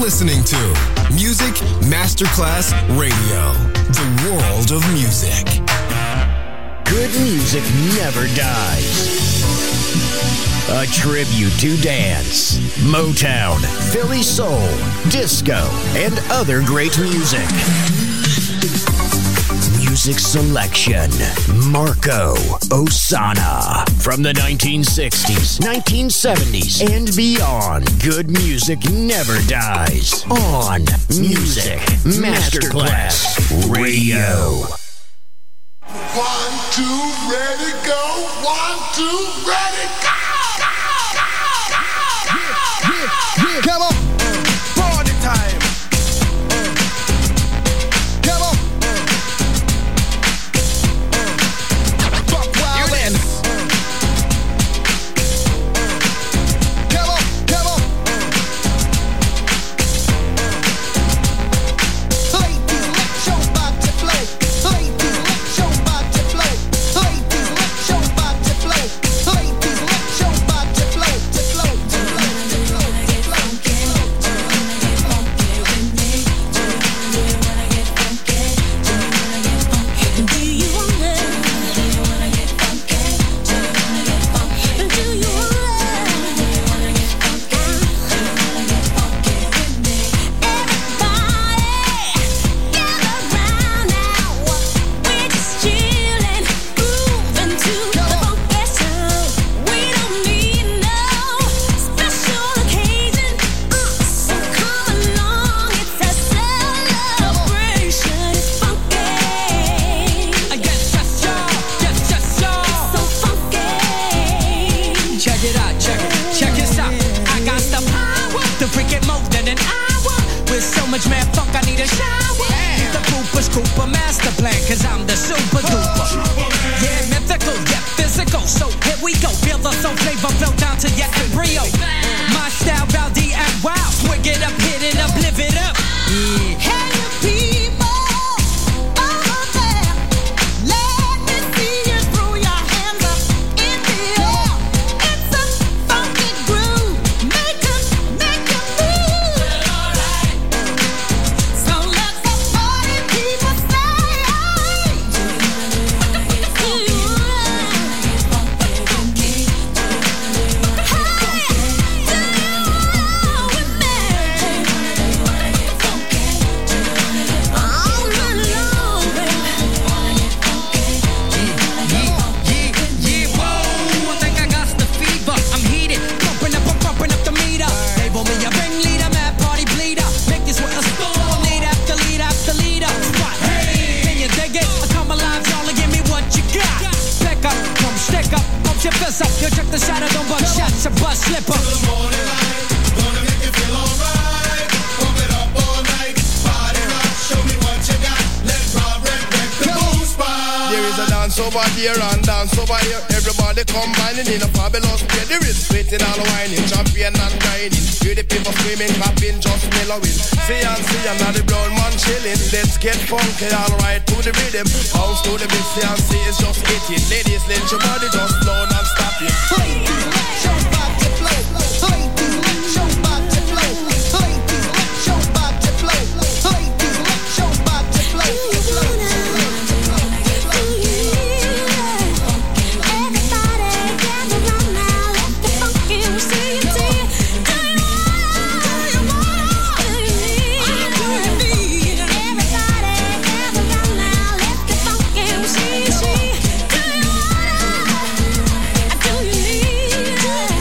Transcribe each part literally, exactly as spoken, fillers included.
listening to Music Masterclass Radio, the world of music. Good music never dies. A tribute to dance, Motown, Philly soul, disco, and other great music. Music selection, Marco Ossanna. From the nineteen sixties, nineteen seventies, and beyond, good music never dies. On Music Masterclass Radio. One, two, ready, go. One, two, ready, go. Yeah, yeah, yeah. Come on. Party time. Come on. Fuck wild and. Come on, come on. Ladies, let your body flow. Ladies, let your body flow. Ladies, let your body flow. Ladies, let your body flow. To flow, to flow, to flow, to flow. Man, funk, I need a shower. Need the pooper scooper master plan, cause I'm the super duper. Yeah, mythical, yeah, physical. So here we go, feel the soul flavor flow down to your embryo. My style, rowdy and wild. Swig it up, hit it up, live it up. Yeah. Hey, you people over there, let me see you throw your hands up in the air. It's a funky groove, make us, make us move. So let the party people say, do you wanna get funky? Hey, do you wanna with me? Up, you check the shadow, don't bust shots, a bus slipper. Morning light, gonna make you feel alright. Pump it up all night, body rock, show me what you got. Let's rock, red, red, the boom spot. There is a dance over here and dance over here. Everybody combining in a fabulous way. There is sweating and whining, champion and grinding. Hear the people screaming, clapping, just mellowing. See and see and now the brown man chilling. Let's get funky, alright, to the rhythm. Bounce to the beat, see and see it's just hitting. Ladies, let your body just flow and stop it. Ladies, let your body flow. Ladies, let your body flow. Ladies, let your body flow. Ladies, let your body flow. Flow, Yeah.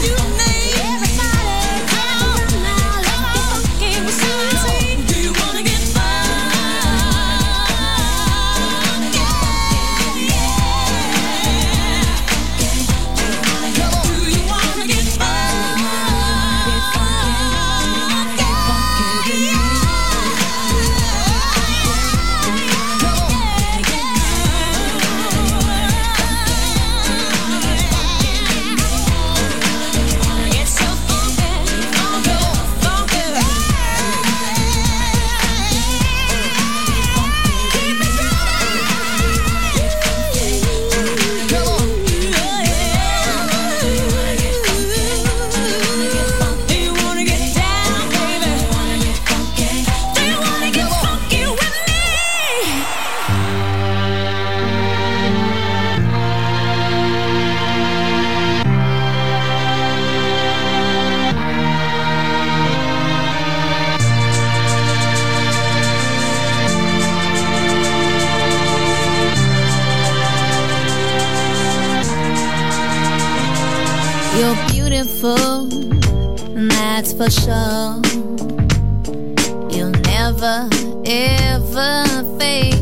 sure. You'll never, ever fade.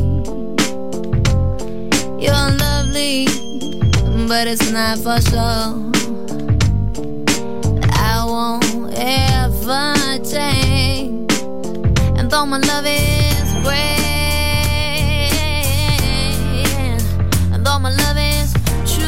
You're lovely, but it's not for sure. I won't ever change. And though my love is great, and though my love is true,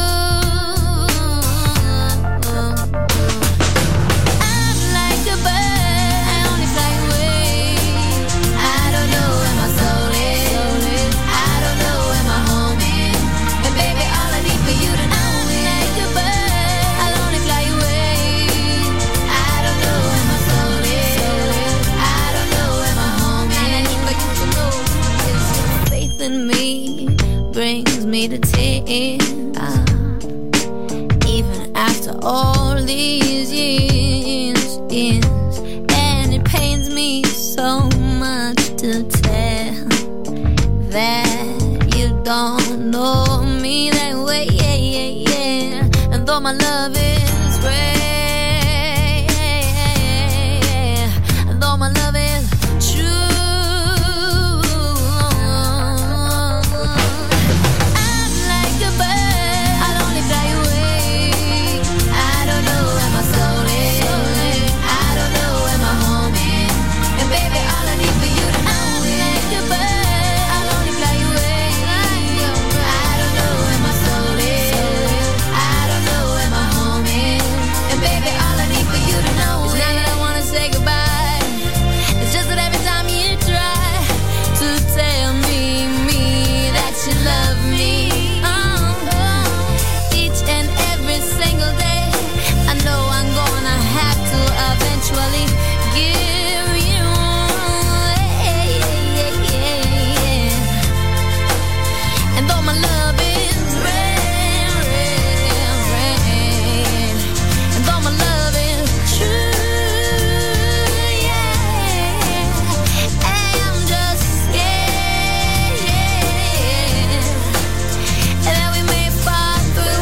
I'm like a bird, I only fly away. I don't know where my soul is, I don't know where my home is. And baby, all I need for you to know, I'm like a bird, I'll only fly away. I don't know where my soul is, I don't know where my home is. And I need for you to know is your faith in me brings me to tears. Ah, even after all these years, years, and it pains me so much to tell that you don't know me that way, yeah, yeah, yeah. And though my love is great, and though my love is true, I'm like a bird, I'll only fly away. I don't know where my soul is, I don't know where my home is. And baby, all I need for you to know, I'm like a bird, I'll only fly away. I don't know where my soul is, I don't know where my home is. And baby, all I need for you to know is not that I wanna say goodbye. It's just that every time you try to tell me, me, that you love me, oh, oh, each and every single day, I know I'm gonna have to eventually give you, yeah, yeah, yeah, yeah. And though my love is rare, rare, rare, and though my love is true, yeah, I'm just scared, yeah, that we may fall through,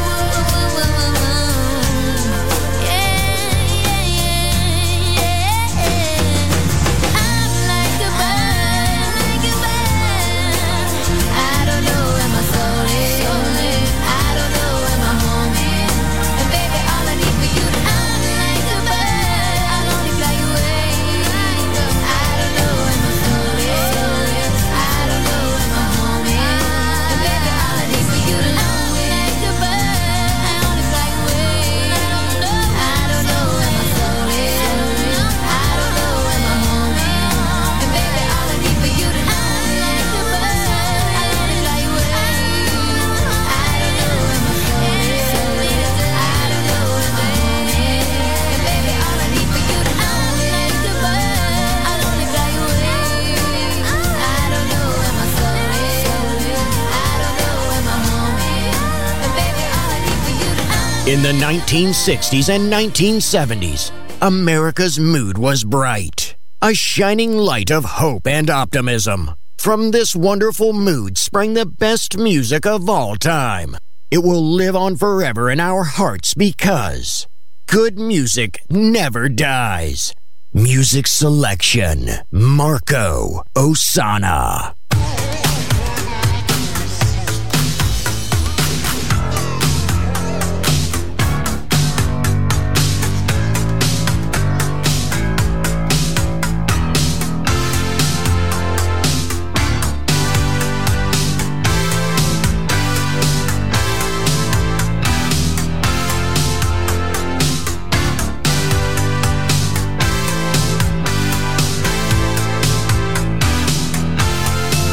yeah, yeah, yeah. I'm like a bird, like a bird. I don't know where my soul is, I don't know where my home is. And baby, all I need for you to know, I'm like a bird, I'll only fly away. I don't know where my soul is, I don't know where my home is. And baby, all I need for you to know, I'm like a bird, I only fly away. I don't know where my soul is, I don't know where my home is. And baby, all I need for you to know, I'm like a bird, I only fly away. I don't know where my soul is, I don't know where my home is. And baby, all I need for you to know, I'm like a bird, I'll only fly away. I don't know where my soul is, I don't know where my home is. And baby, all I need for you to know. In the nineteen sixties and nineteen seventies, America's mood was bright, a shining light of hope and optimism. From this wonderful mood sprang the best music of all time. It will live on forever in our hearts because good music never dies. Music selection, Marco Ossanna. I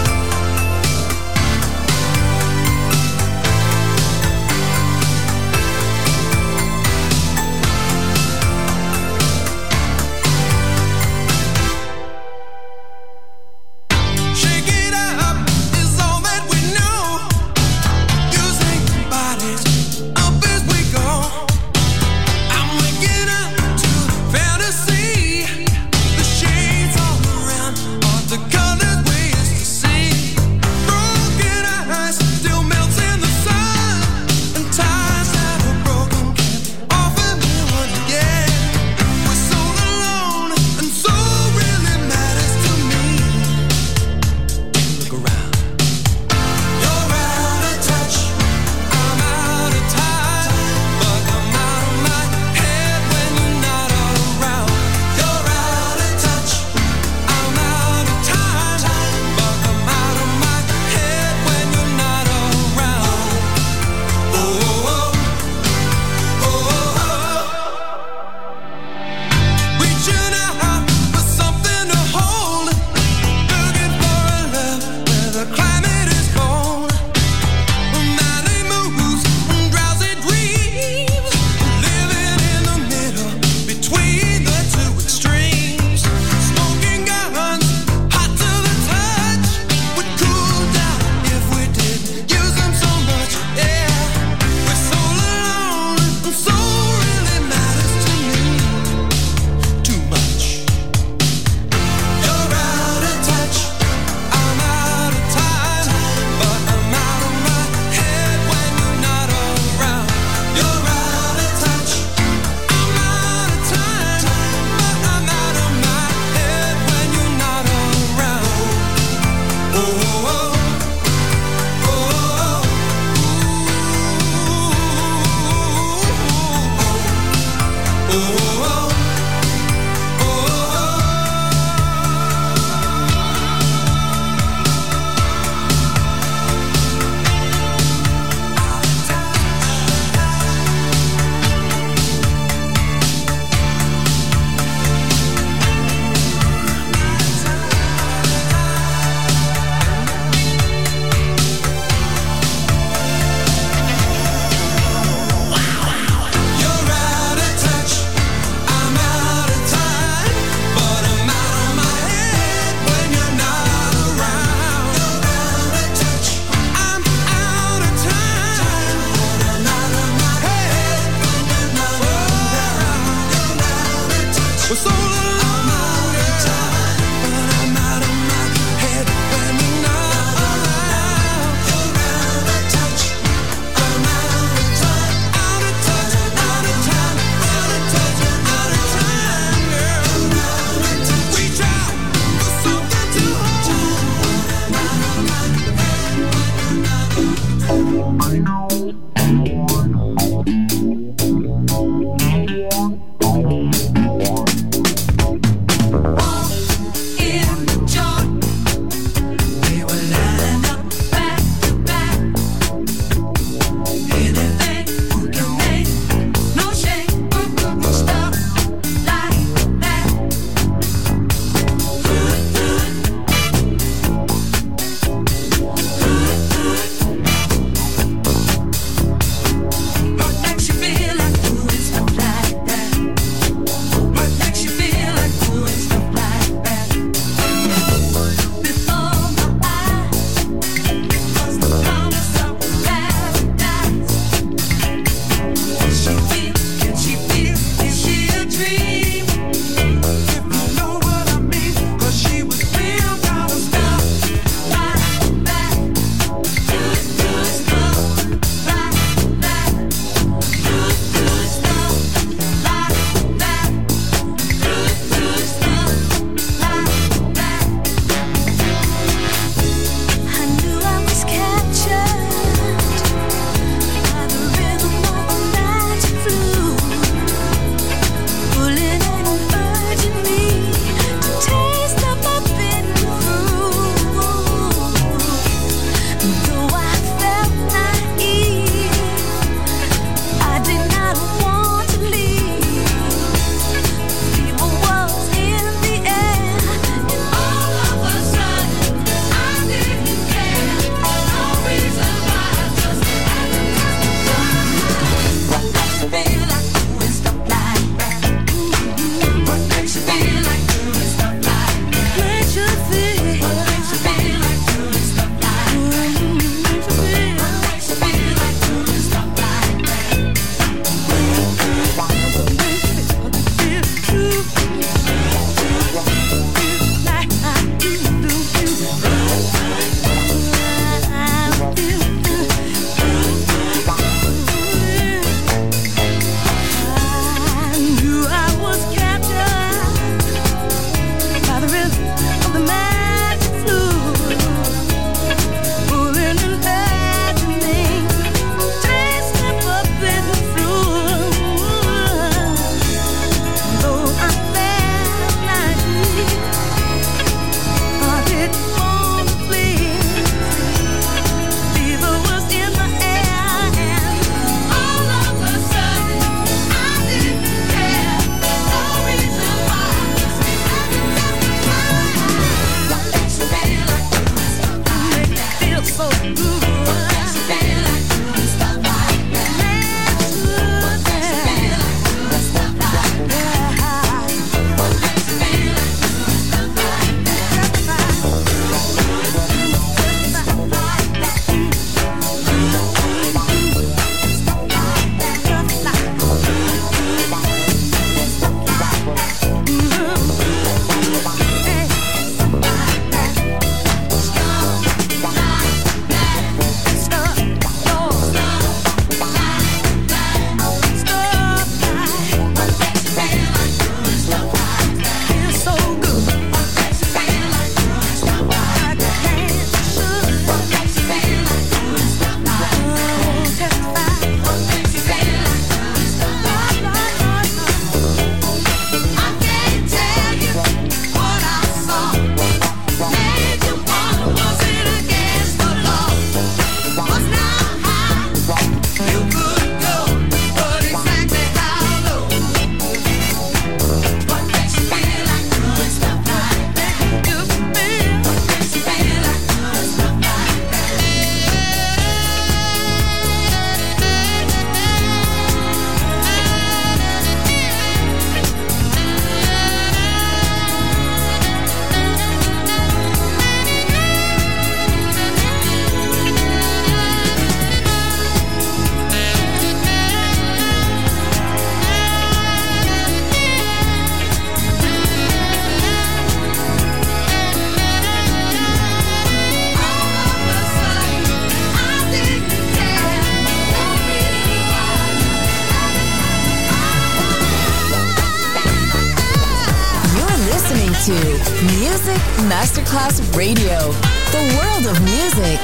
to Music Masterclass Radio, the world of music.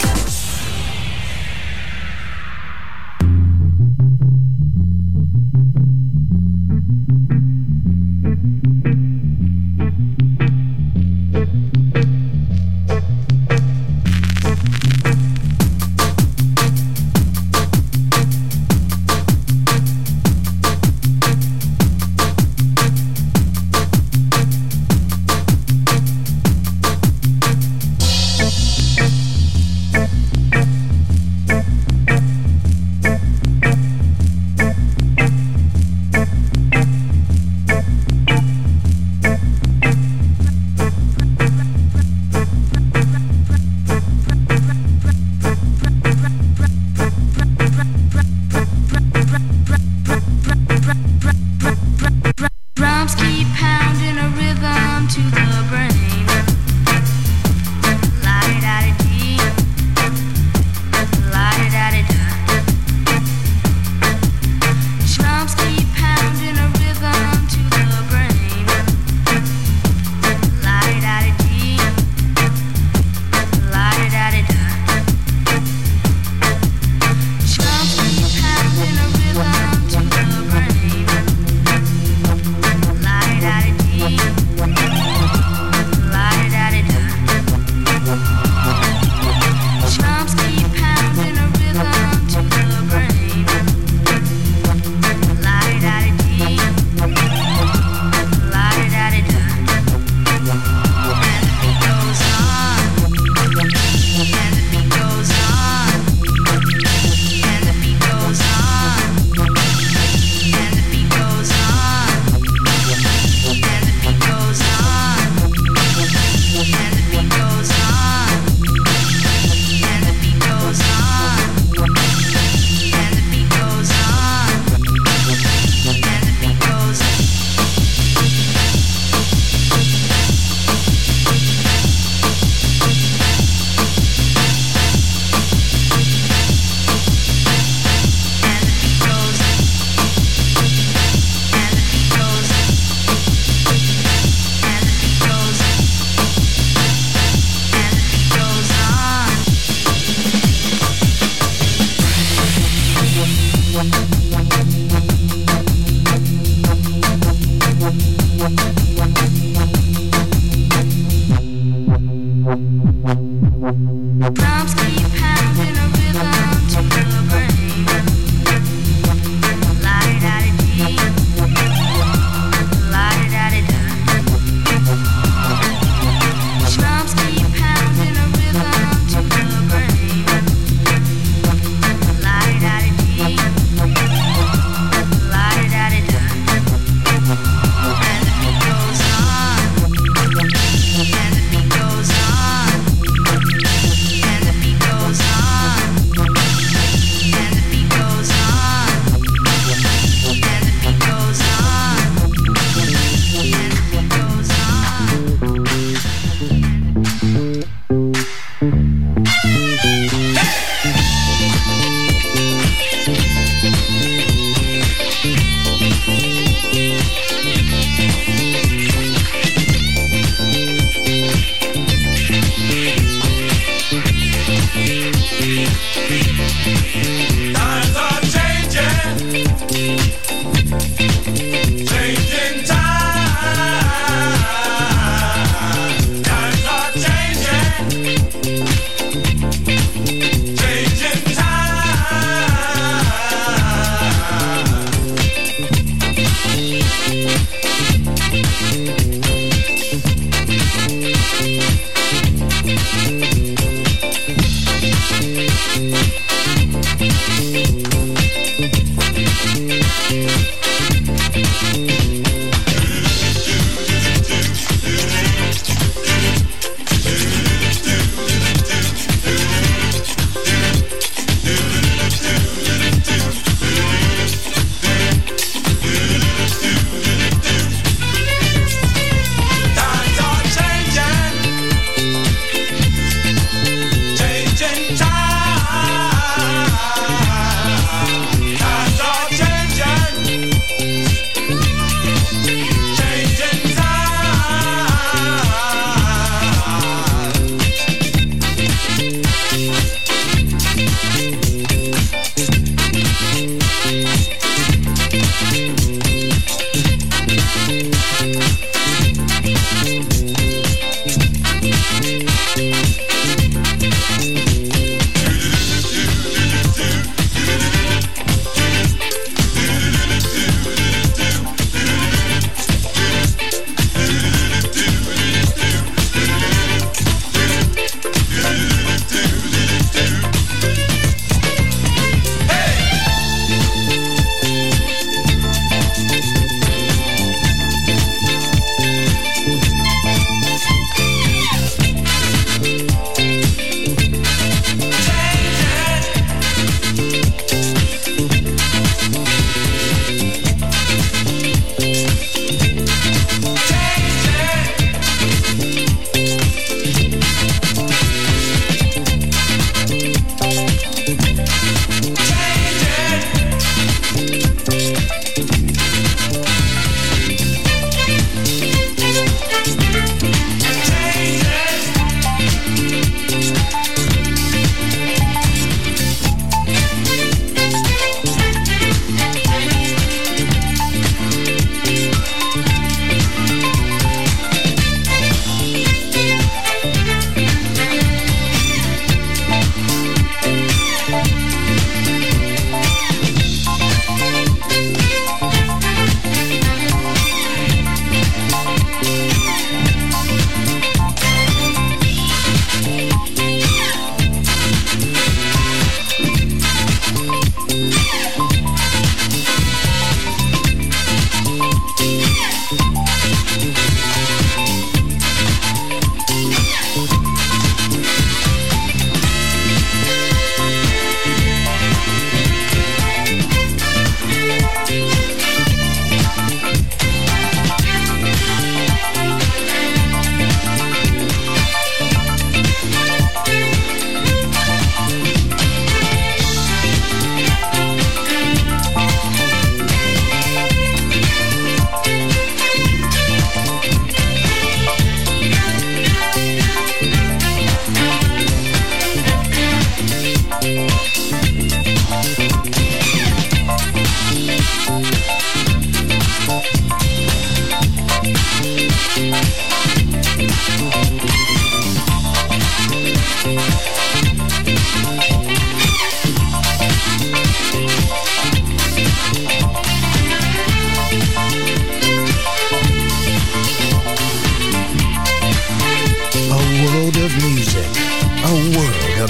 Thank you.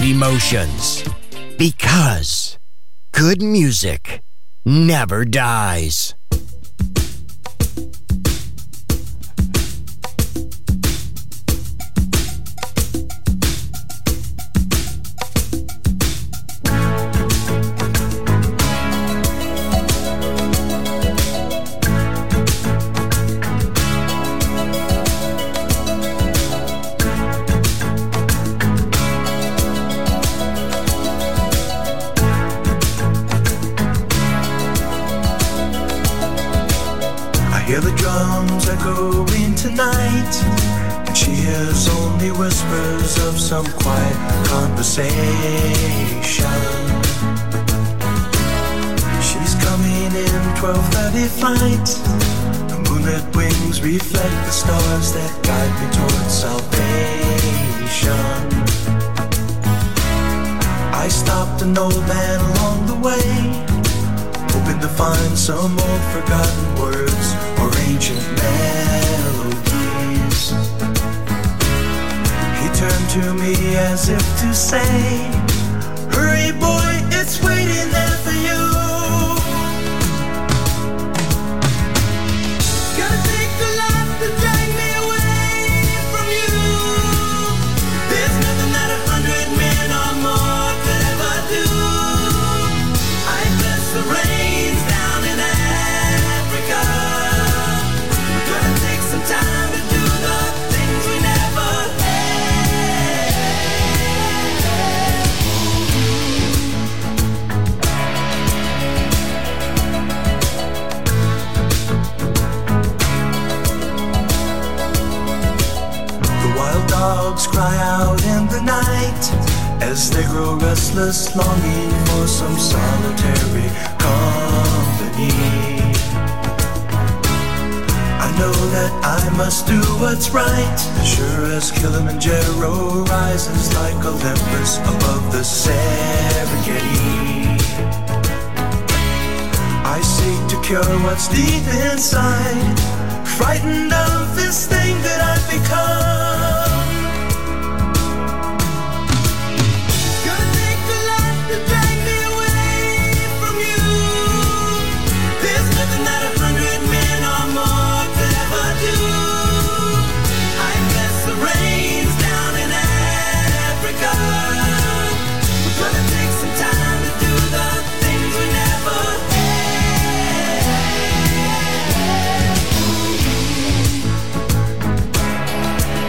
emotions. Because good music never dies. Hear the drums echoing tonight, and she hears only whispers of some quiet conversation. She's coming in twelve thirty flight. The moonlit wings reflect the stars that guide me towards salvation. I stopped an old man along the way, hoping to find some old forgotten words or ancient melodies. He turned to me as if to say, hurry boy, it's waiting there for you. Gotta take a lot to drag me away from you. There's nothing that a hundred men or more could ever do. I bless the rains down in Africa. We're gonna take some time to do the things we never had. The wild dogs cry out in the night as they grow restless, longing for some solitary company. I know that I must do what's right, as sure as Kilimanjaro rises like Olympus above the Serengeti. I seek to cure what's deep inside, frightened of this thing that I've become. Gonna take a lot to drag me away from you. There's nothing that a hundred men or more could ever do. I bless the rains down in Africa. We're gonna take some time to do the things we never had.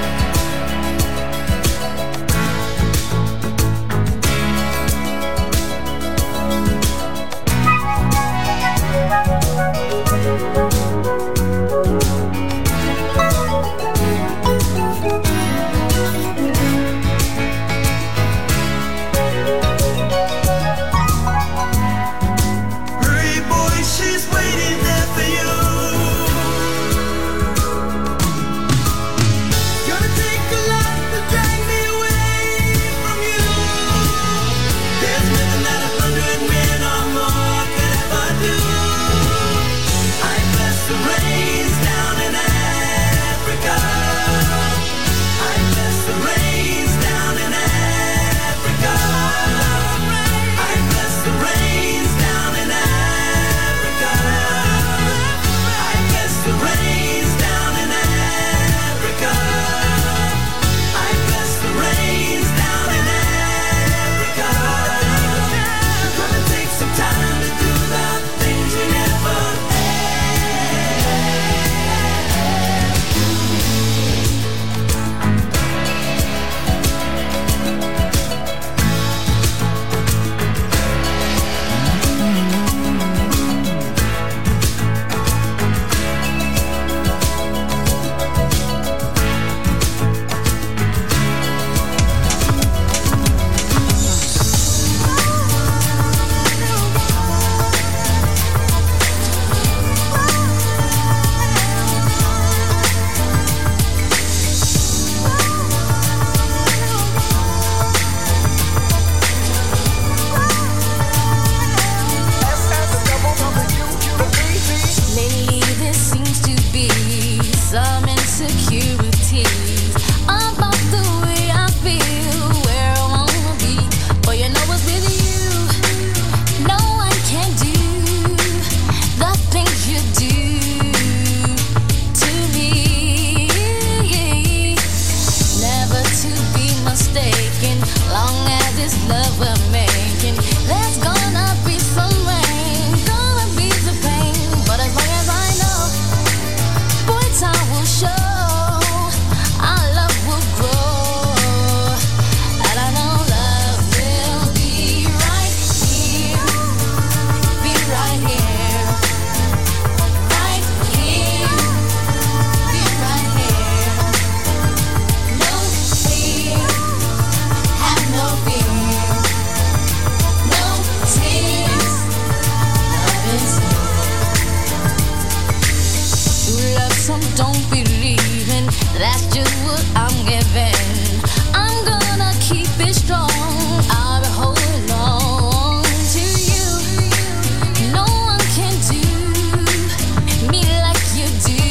what I'm giving. I'm gonna keep it strong. I'll be holding on to you. No one can do me like you do.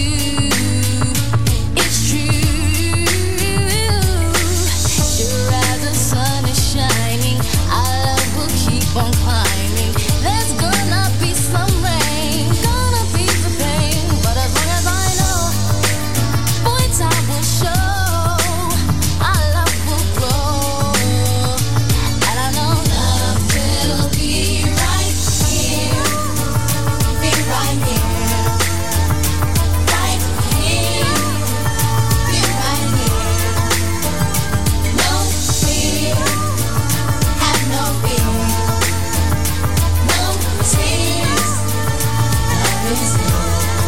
It's true. Sure as the sun is shining, our love will keep on climbing. There's gonna be some rain, gonna be the pain, but as long as I know, boy, time will show. Our love will grow, and I know love will be right here, be right here, right here, be right here. No fear, have no fear, no tears. Love is here.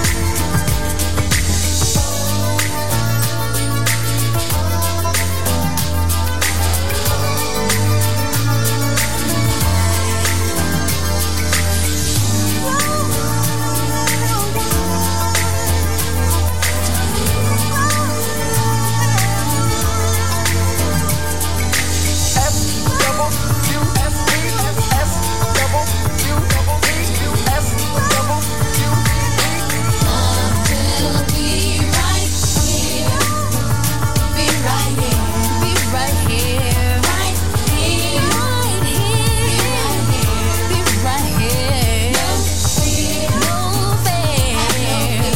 Love will be right here, be right here, be right here, right here, right here, be right here. No fear, no fear,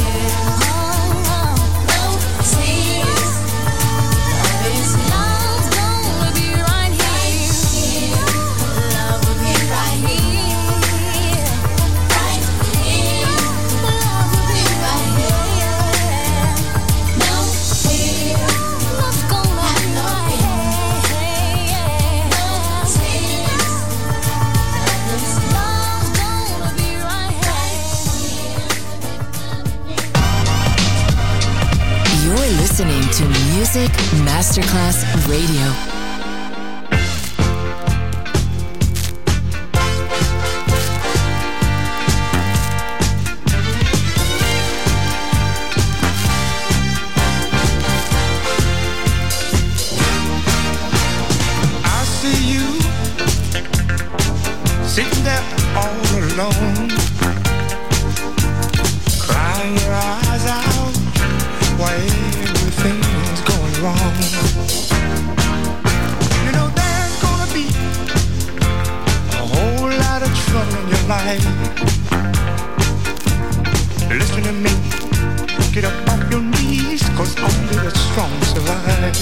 no tears. Love is love's gonna be right here. Love will be right here, right here. Love will be right here. No fear, love's gonna be right here. No tears. Love's gonna be right here. You're listening to Music Masterclass Radio. I see you sitting there all alone, crying your eyes out while everything's going wrong. You know there's gonna be a whole lot of trouble in your life. Listen to me, get up off your knees, 'cause only the strong survive.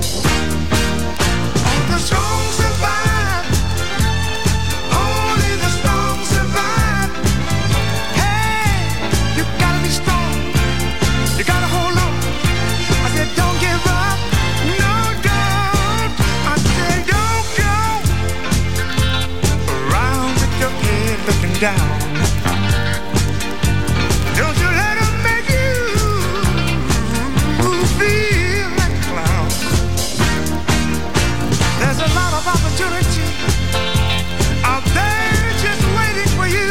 The strong survive. Only the strong survive. Hey, you gotta be strong. You gotta hold on. I said don't give up. No, don't. I said don't go around with your head looking down. Don't you let 'em make you feel like a clown. There's a lot of opportunity out there just waiting for you,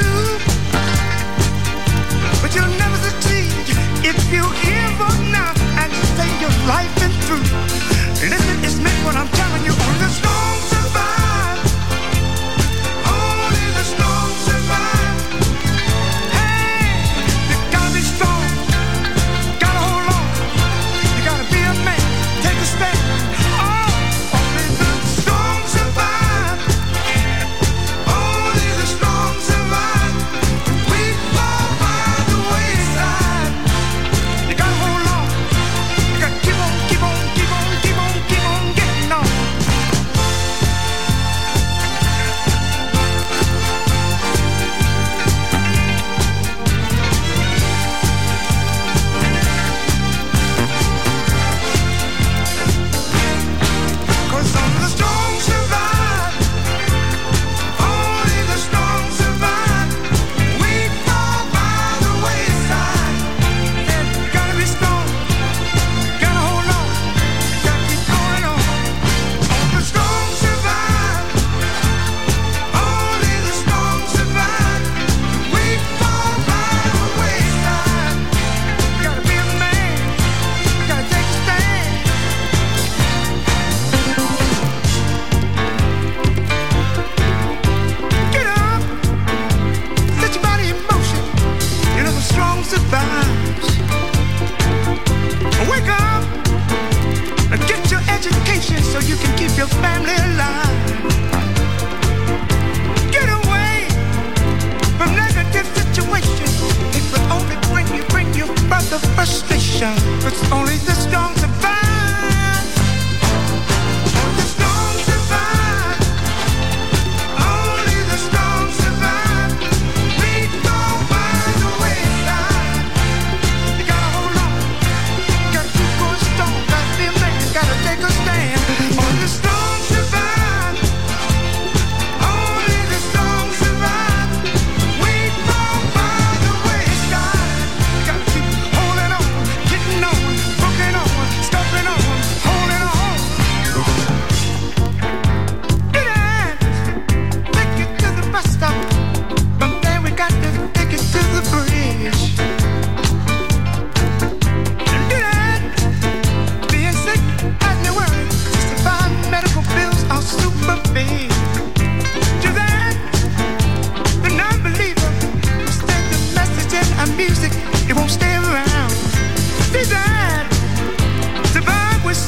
but you'll never succeed if you give up now and say your life is through. Listen, it's meant what I'm telling you. Only the strong survive. Only the strong survive.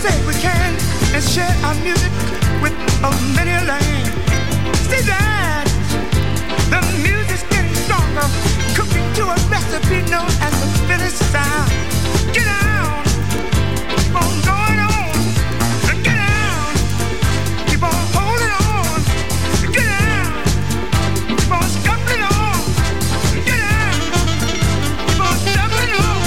say we can and share our music with a many a land. See that the music's getting stronger, cooking to a recipe known as the finished sound. Get down, keep on going on, get down, keep on holding on, get down, keep on scuffling on, get down, keep on stumbling on.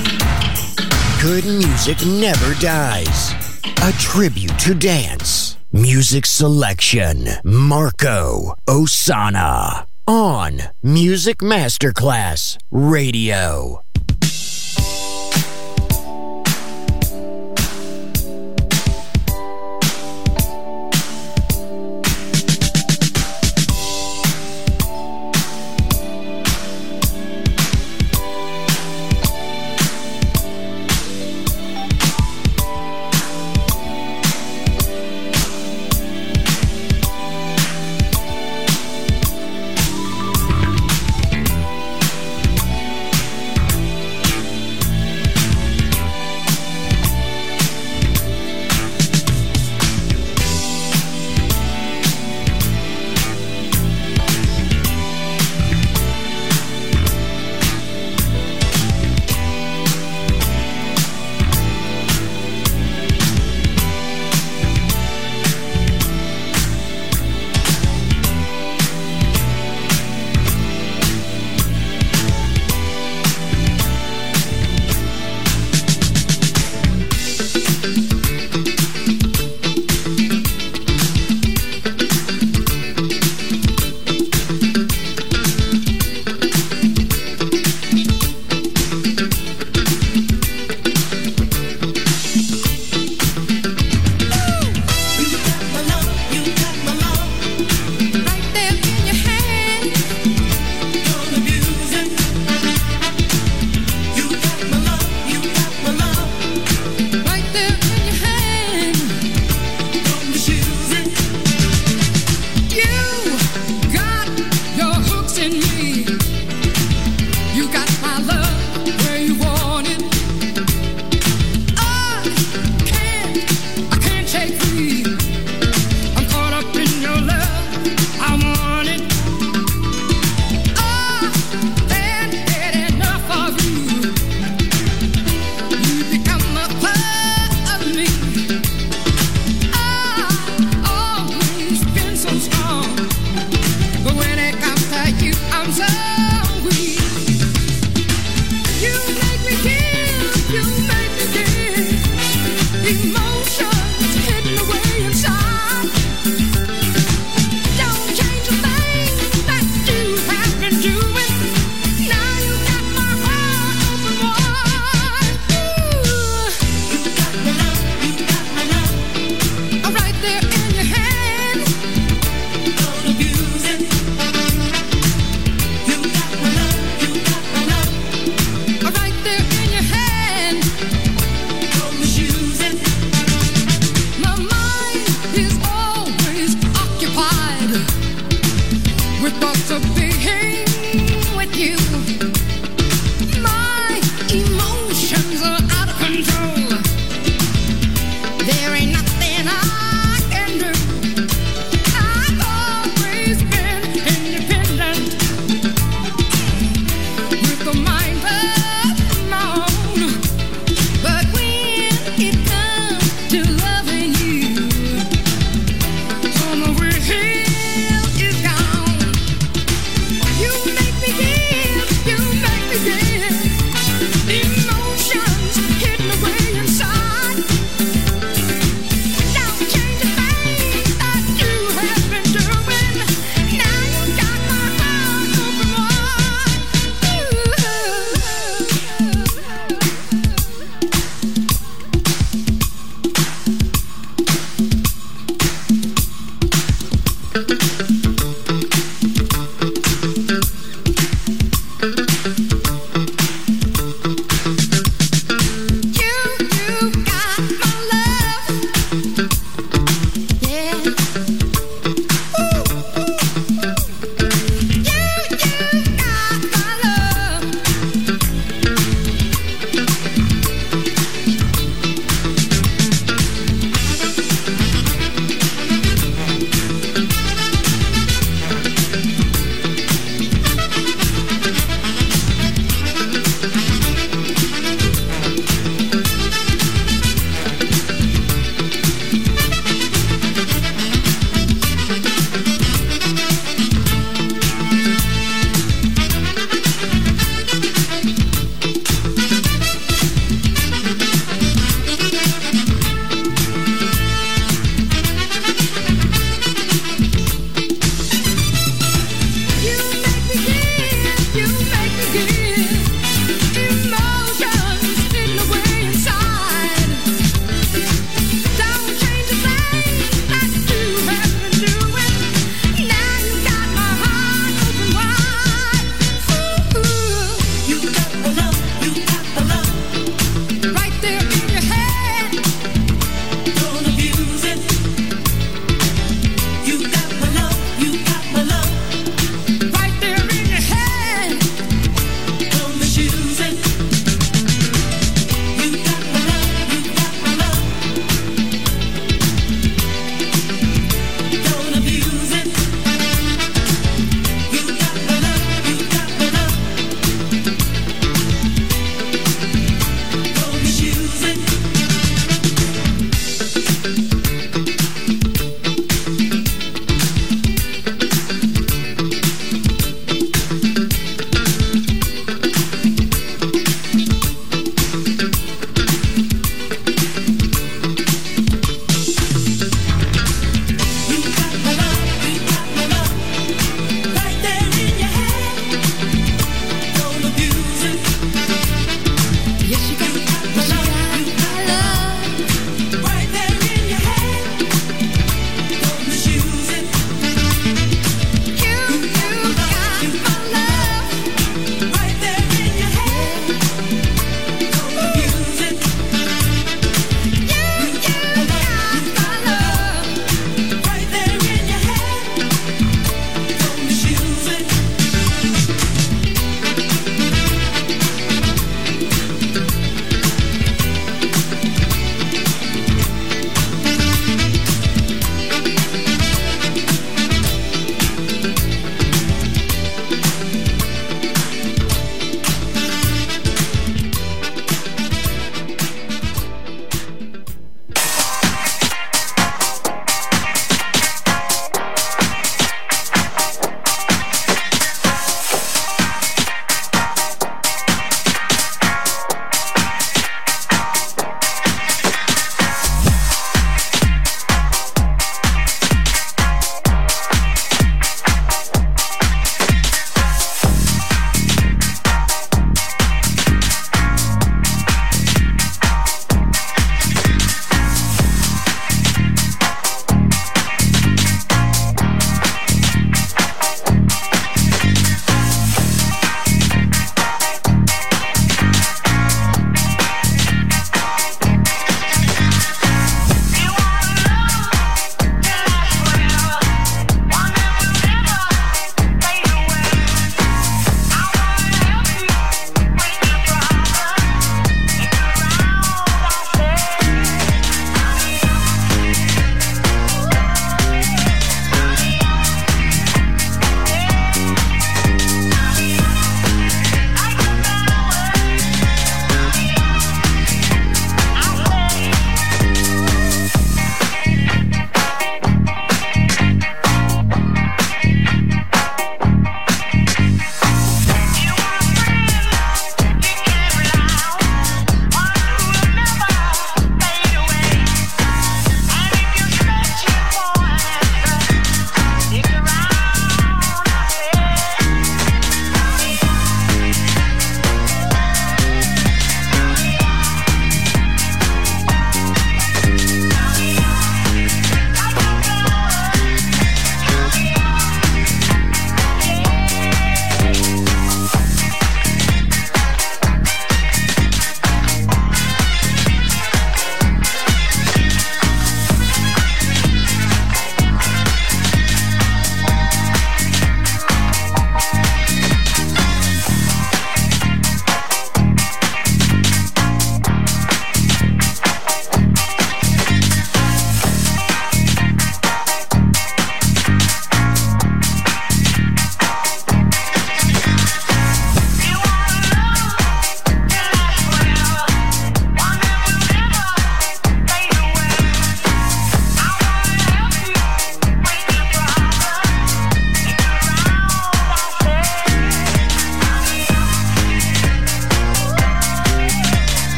Good music never dies. A tribute to dance. Music selection, Marco Ossanna. On Music Masterclass Radio.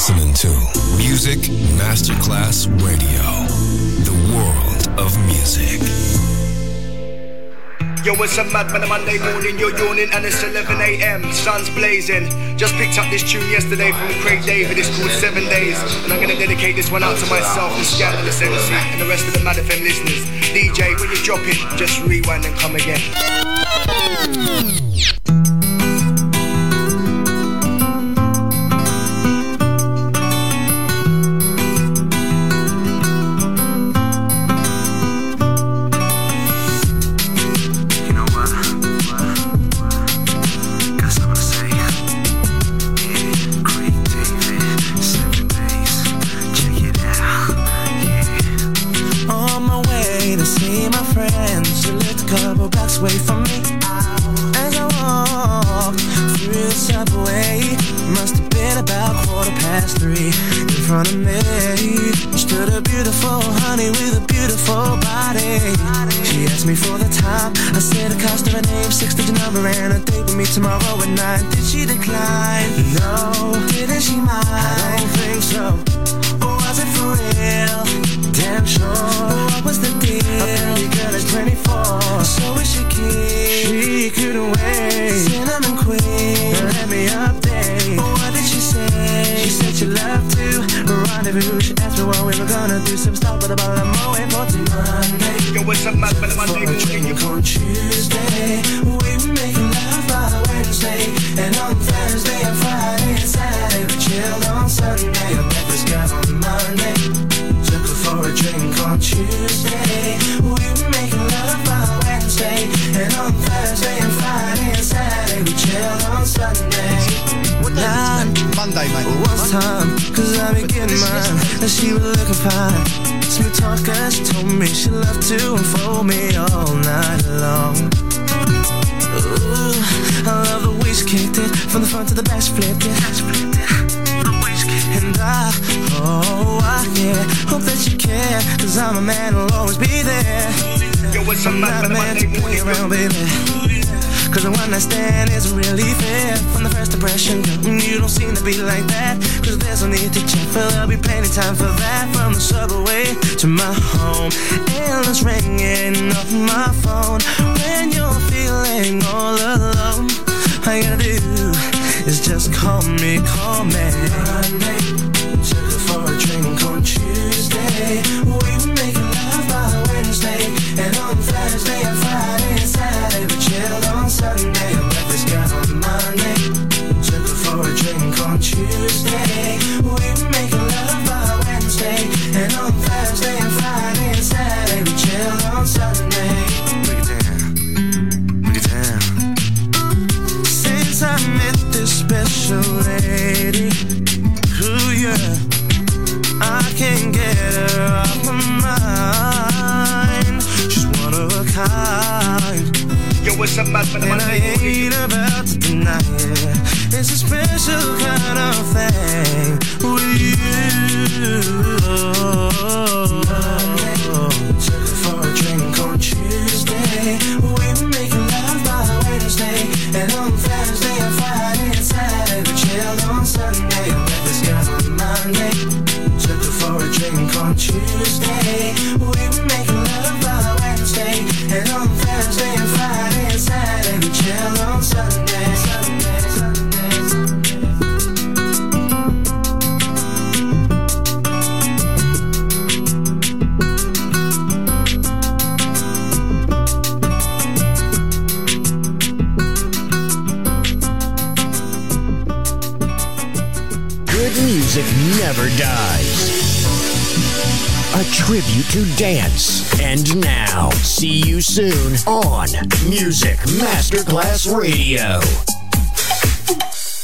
listening to Music Masterclass Radio, the world of music. Yo, it's a mad man, a Monday morning, you're yawning and it's eleven a.m, sun's blazing. Just picked up this tune yesterday from Craig David, it's called Seven Days. And I'm gonna dedicate this one out to myself, the Scandalous M C, and the rest of the Mad F M listeners. D J, when you drop it, just rewind and come again. Away from me as I walked through the subway. Must have been about quarter past three. In front of me stood a beautiful honey with a beautiful body. She asked me for the time. I said the cost of her name, six-digit number, and a date with me tomorrow at nine. Did she decline? No. Didn't she mind? I don't think so. Or was it for real? Damn sure. What was the deal? A pretty girl is twenty-four, so is she keen? She couldn't wait. Cinnamon queen, let me update. What did she say? She said she loved to rendezvous. She asked me what we were gonna do. Some stop with a bottle of Moe for Monday. Yo, what's up, man? Monday morning, drink on Tuesday. We were making love by Wednesday, and on Thursday and Friday and Saturday we chilled on Sunday. I met this guy on Monday. Took her for a drink on Tuesday. We were making love by Wednesday, and on Thursday and Friday and Saturday we chilled on Sunday. What time? Monday, mate. What's time? Cause I be getting mine, and she was looking fine. Smooth talker, she told me she loved to unfold me all night long. Ooh, I love the way she kicked it, from the front to the back she flipped it. And I, oh, I, yeah, hope that you care, cause I'm a man who'll always be there. Yo, what's up, I'm not a man to play around, baby, cause the one night stand isn't really fair. From the first impression, girl, you don't seem to be like that. Cause there's no need to check, but there'll be plenty time for that. From the subway to my home, endless ringing off my phone. When you're feeling all alone, all you gotta do is just call me, call me. Monday, took her for a drink on Tuesday. We were making love by Wednesday, and on Thursday and Friday and Saturday we chilled on Sunday. I met this guy on Monday. Took her for a drink on Tuesday. We were making love by Wednesday, and on Thursday and Friday and Saturday we chilled on Sunday. Break it down, break it down. Since I met this special lady, ooh yeah, I can't get her off my mind. She's one of a kind. Yo, what's up, man? And I ain't about to deny it. It's a special kind of thing with you. Monday, took her for a drink on Tuesday. We were making love by Wednesday, and on Thursday and Friday and Saturday we chilled on Sunday. I met this guy on Monday. Took her for a drink on Tuesday. We were making love by Wednesday, and on Thursday and Friday and Saturday we chilled on Sunday. Sunday, Sunday, Sunday. Good music never dies. A tribute to dance. And now, see you soon on Music Masterclass Radio.